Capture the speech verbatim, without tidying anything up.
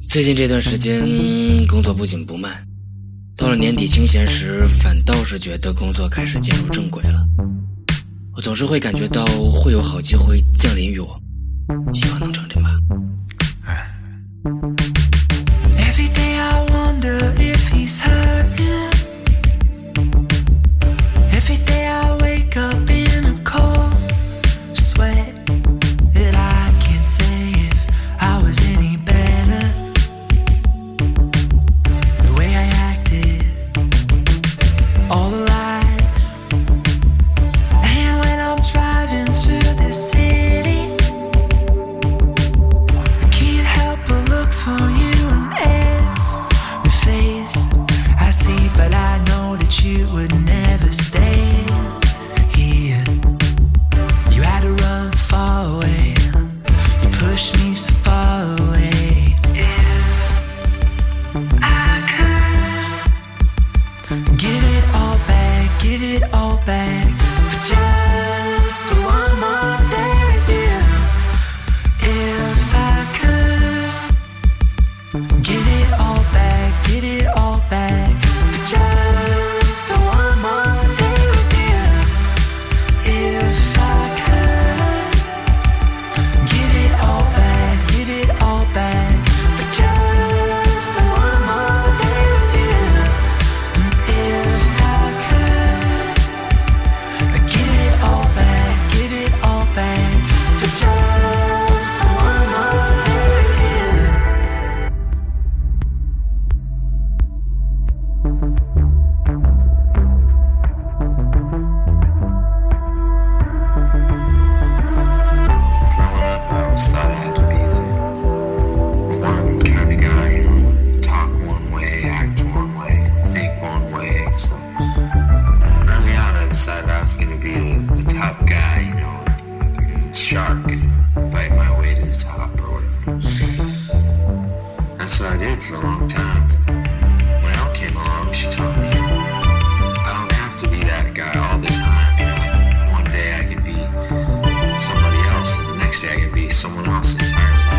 最近这段时间工作不紧不慢，到了年底清闲时，反倒是觉得工作开始进入正轨了。我总是会感觉到会有好机会降临于我，希望能成真吧。 Every day I wonder if he's hurting. Every day I wake up in a cold sweat, and I can't say if I was any better. The way I acted, all the lies, and when I'm driving through the city, I can't help but look for you in every face I see, but I know that you would never stay here. You had to run far away, you pushed me so far away. If I could give it all back, give it all back for just one more day with you. If I could give it all back, give it all back for just one more day with you. If I could give it all back, give it all back for just one more day with you. If I could give it all back, give it all back for just one more day with you. Growing up, I always thought I had to be the one kind of guy, you know, talk one way, act one way, think one way. So early on, I decided I was going to be the, the top guy, you know, like a shark and bite my way to the top or whatever. That's what I did for a long time. When Elle came along, she taught me I don't have to be that guy all the time. You know, one day I could be somebody else, and the next day I could be someone else entirely.